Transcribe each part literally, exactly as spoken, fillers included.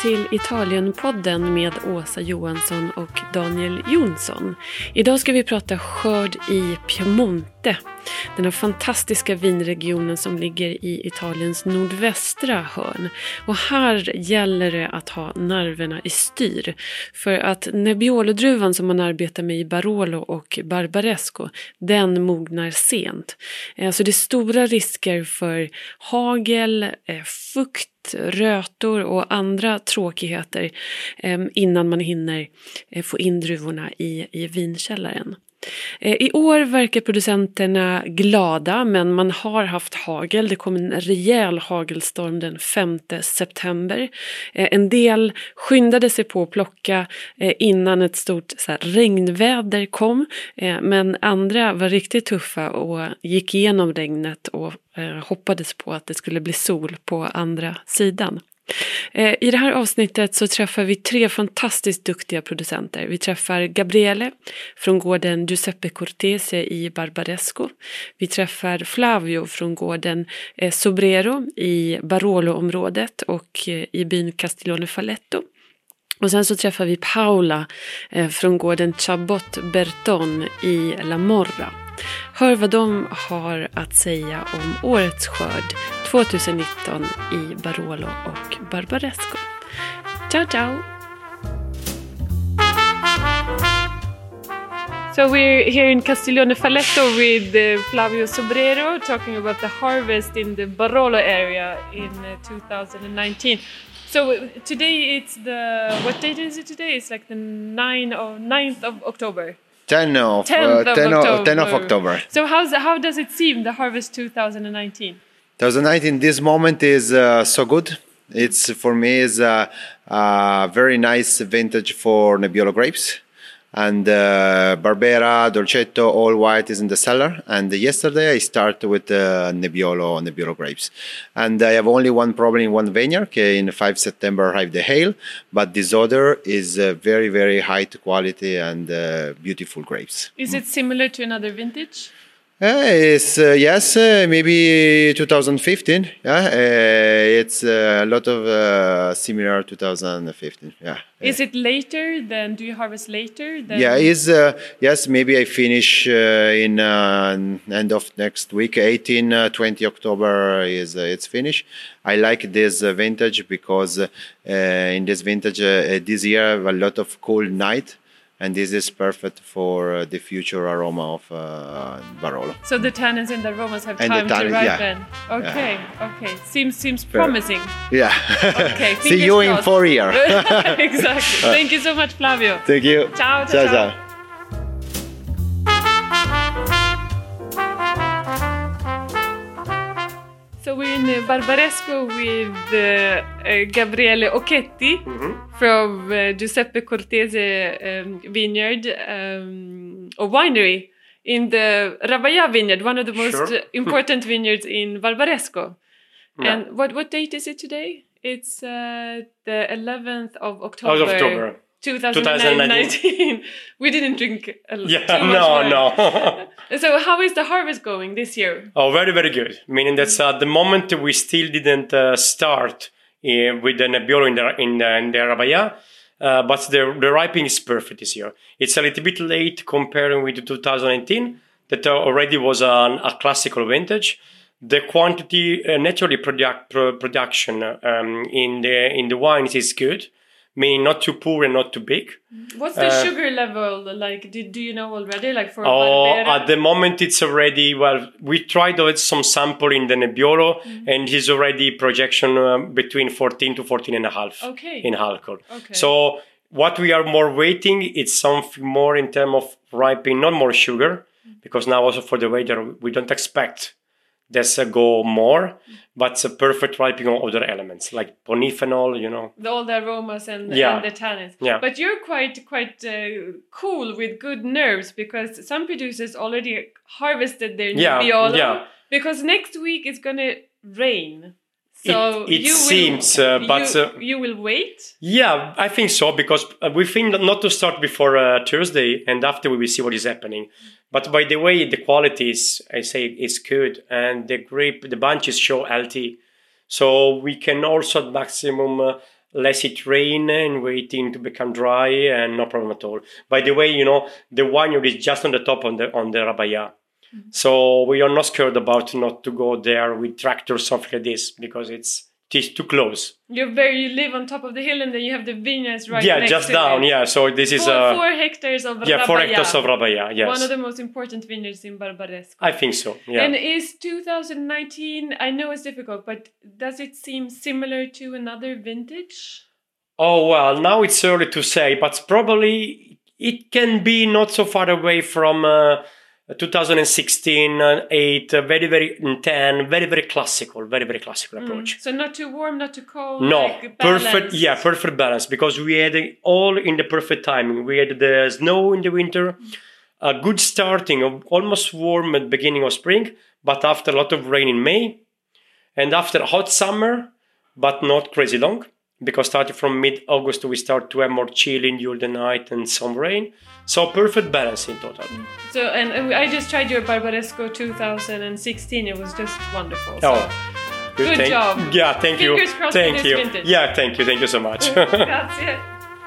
till Italienpodden med Åsa Johansson och Daniel Jonsson. Idag ska vi prata skörd i Piemonte, den här fantastiska vinregionen som ligger i Italiens nordvästra hörn. Och här gäller det att ha nerverna i styr, för att Nebbiolo-druvan som man arbetar med i Barolo och Barbaresco, den mognar sent. Så det är stora risker för hagel, fukt, rötor och andra tråkigheter innan man hinner få in druvorna i, i vinkällaren. I år verkar producenterna glada, men man har haft hagel. Det kom en rejäl hagelstorm den femte september. En del skyndade sig på att plocka innan ett stort så här, regnväder kom. Men andra var riktigt tuffa och gick igenom regnet och hoppades på att det skulle bli sol på andra sidan. I det här avsnittet så träffar vi tre fantastiskt duktiga producenter. Vi träffar Gabriele från gården Giuseppe Cortese i Barbaresco. Vi träffar Flavio från gården Sobrero i Barolo-området och i byn Castiglione Falletto. Och sen så träffar vi Paola från gården Chabot Berton i La Morra. Hör vad de har att säga om årets skörd tjugonitton i Barolo och Barbaresco. Ciao, ciao! So we're here in Castiglione Falletto with uh, Flavio Sobrero talking about the harvest in the Barolo area in uh, two thousand nineteen. So uh, today it's the, what date is it today? It's like the ninth of, ninth of October. tenth of, tenth uh, of, tenth October. of, tenth of October. So how's, how does it seem, the harvest twenty nineteen? twenty nineteen, this moment is uh, so good. It's for me is a, a very nice vintage for Nebbiolo grapes. And uh, Barbera, Dolcetto, all white is in the cellar. And yesterday I started with uh, Nebbiolo, Nebbiolo grapes. And I have only one problem in one vineyard. Okay, in the fifth of September arrived the hail. But this other is uh, very, very high quality and uh, beautiful grapes. Is it similar to another vintage? Uh, it's, uh, yes, uh, maybe twenty fifteen. Yeah, uh, it's uh, a lot of uh, similar twenty fifteen. Yeah. Is it later than? Do you harvest later? Than... Yeah, is uh, yes. Maybe I finish uh, in uh, end of next week. eighteen, uh, twenty October is uh, it's finished. I like this uh, vintage because uh, in this vintage uh, this year I have a lot of cold night. And this is perfect for uh, the future aroma of uh, Barolo. So the tannins and the aromas have and time tannins, to ripen. Yeah. Okay, yeah. okay. Seems seems promising. Yeah. Okay. See you crossed. In four years. Exactly. Thank you so much, Flavio. Thank you. Ciao, ciao, ciao. ciao. ciao. So we're in uh, Barbaresco with uh, uh, Gabriele Occhetti mm-hmm. from uh, Giuseppe Cortese um, vineyard um, or winery in the Rabaia vineyard, one of the most sure. important vineyards in Barbaresco. Yeah. And what, what date is it today? It's uh, the eleventh of October. Of October. twenty nineteen. We didn't drink a lot. Yeah, too much no, wine. no. So how is the harvest going this year? Oh, very, very good. Meaning that at the moment we still didn't uh, start uh, with the Nebbiolo in the in the, in the Rabaia, uh, but the the ripening is perfect this year. It's a little bit late comparing with twenty nineteen, that already was an, a classical vintage. The quantity, uh, naturally product, pro, production um, in the in the wines is good. Meaning not too poor and not too big. What's the uh, sugar level like? Do, do you know already? Like for oh, Barbera? At the moment it's already, well, we tried out some sample in the Nebbiolo mm-hmm. and it's already projection uh, between fourteen to fourteen and a half okay. in alcohol. Okay. So what we are more waiting, it's something more in terms of ripening, not more sugar, mm-hmm. because now also for the weather we don't expect there's a go more, but it's a perfect ripening of other elements like polyphenol, you know. The, all the aromas and, yeah. and the tannins. Yeah. But you're quite quite uh, cool with good nerves because some producers already harvested their yeah. Nebbiolo yeah. because next week it's going to rain. So it it you seems, will, uh, but... You, uh, you will wait? Yeah, I think so, because we think not to start before uh, Thursday, and after we will see what is happening. But by the way, the quality is, I say, is good, and the grape, the bunches show healthy. So we can also at maximum uh, less it rain and waiting to become dry, and no problem at all. By the way, you know, the winery is just on the top on the on the Rabaya. Mm-hmm. So we are not scared about not to go there with tractor or something like this, because it's it's too close. You're very you live on top of the hill, and then you have the vineyards right yeah, next just to down. it. Yeah, so this is four, uh, four hectares of yeah, Rabaya. four hectares of Rabaya. Yes, one of the most important vineyards in Barbaresco. I think so. Yeah. And is two thousand nineteen? I know it's difficult, but does it seem similar to another vintage? Oh well, now it's early to say, but probably it can be not so far away from. Uh, twenty sixteen, eight, uh, very, very ten, very, very classical, very, very classical mm. approach. So not too warm, not too cold. No, like perfect, yeah, perfect balance, because we had all in the perfect timing. We had the snow in the winter, a good starting of almost warm at the beginning of spring, but after a lot of rain in May, and after a hot summer, but not crazy long, because starting from mid-August we start to have more chilling during the night and some rain. So perfect balance in total. So and I just tried your Barbaresco two thousand sixteen. It was just wonderful. So. Oh, good thank, job. Yeah, thank Fingers you. crossed Thank for this you. vintage. Yeah, thank you. Thank you so much. Grazie.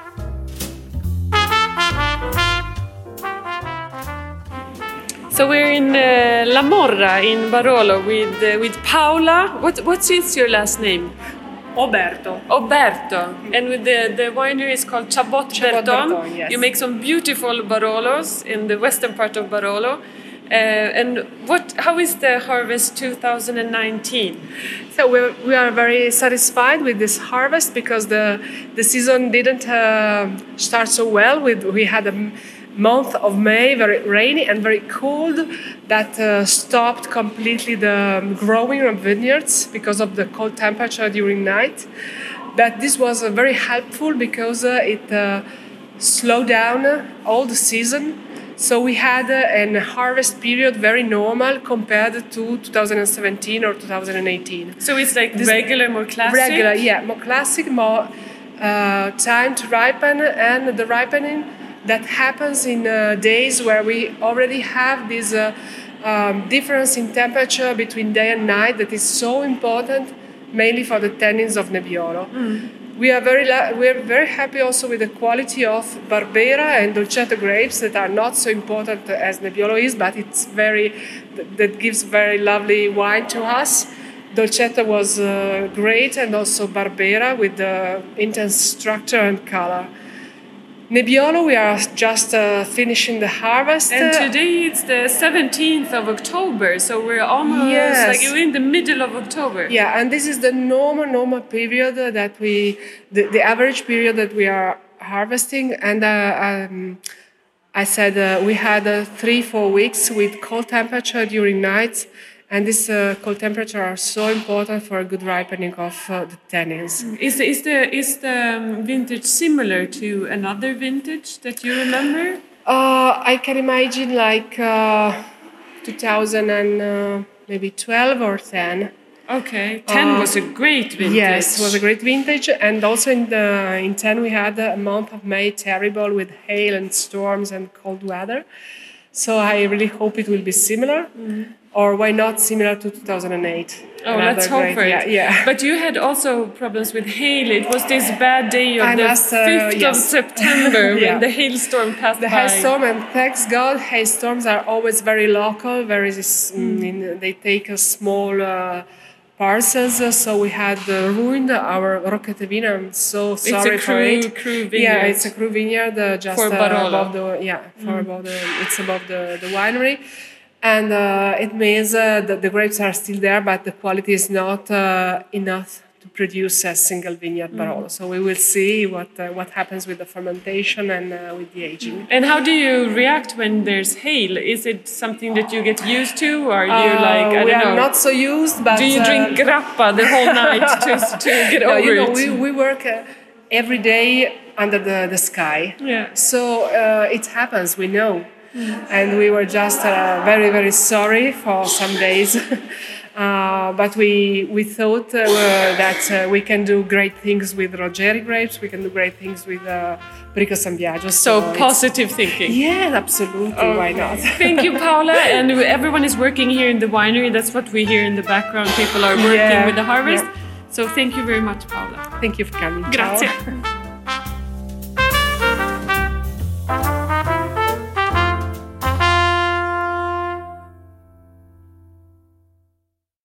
So we're in uh, La Morra in Barolo with uh, with Paola. What what's is your last name? Oberto. Oberto. And with the, the winery is called Chabot, Chabot Berton. Berton, yes. You make some beautiful Barolos in the western part of Barolo. Uh, and what? How is the harvest two thousand nineteen? So we we are very satisfied with this harvest, because the the season didn't uh, start so well. With we had a month of May very rainy and very cold that uh, stopped completely the growing of vineyards because of the cold temperature during night. But this was uh, very helpful, because uh, it uh, slowed down all the season. So we had uh, a harvest period very normal compared to two thousand seventeen or two thousand eighteen. So it's like This regular, more classic? Regular, yeah, more classic, more uh, time to ripen, and the ripening that happens in uh, days where we already have this uh, um, difference in temperature between day and night that is so important, mainly for the tannins of Nebbiolo. Mm. We are very la- we are very happy also with the quality of Barbera and Dolcetto grapes that are not so important as Nebbiolo is, but it's very that gives very lovely wine to us. Dolcetto was uh, great, and also Barbera with the intense structure and color. Nebbiolo, we are just uh, finishing the harvest. And today it's the seventeenth of October, so we're almost yes. like we're in the middle of October. Yeah, and this is the normal, normal period that we, the, the average period that we are harvesting. And uh, um, I said uh, we had uh, three, four weeks with cold temperature during nights. And this uh, cold temperature are so important for a good ripening of uh, the tannins. Is the, is the is the um, vintage similar to another vintage that you remember? Uh, I can imagine like uh, two thousand and uh, maybe twelve or ten. Okay, ten uh, was a great vintage. Yes, it was a great vintage, and also in the in ten we had a month of May terrible with hail and storms and cold weather. So I really hope it will be similar. Mm. Or why not similar to two thousand eight? Oh, let's hope great, for it. Yeah, yeah. But you had also problems with hail. It was this bad day of I the must, uh, fifth yes. of September yeah. when the hailstorm passed the by. The hailstorm, and thanks God, hailstorms are always very local. Very, mm. in, they take a small uh, parcels. So we had uh, ruined our Rocchettevino. I'm so sorry it's a for crew, it. Crew vineyard. Yeah, it's a crew vineyard uh, just for uh, above the yeah for mm. above the it's above the, the winery. And uh, it means uh, that the grapes are still there, but the quality is not uh, enough to produce a single vineyard Barolo. Mm. So we will see what uh, what happens with the fermentation and uh, with the aging. And how do you react when there's hail? Is it something that you get used to, or are you uh, like I we don't are know? not so used, but do you drink uh, grappa the whole night to to get no, over you know, it? We we work uh, every day under the, the sky. Yeah. So uh, it happens. We know. Mm. And we were just uh, very, very sorry for some days. uh, but we we thought uh, that uh, we can do great things with Ruggeri grapes. We can do great things with uh, Bricco San Biagio. So, so positive thinking. Yeah, absolutely. Okay. Why not? Thank you, Paola. And everyone is working here in the winery. That's what we hear in the background. People are working yeah. with the harvest. Yeah. So thank you very much, Paola. Thank you for coming. Grazie. Ciao.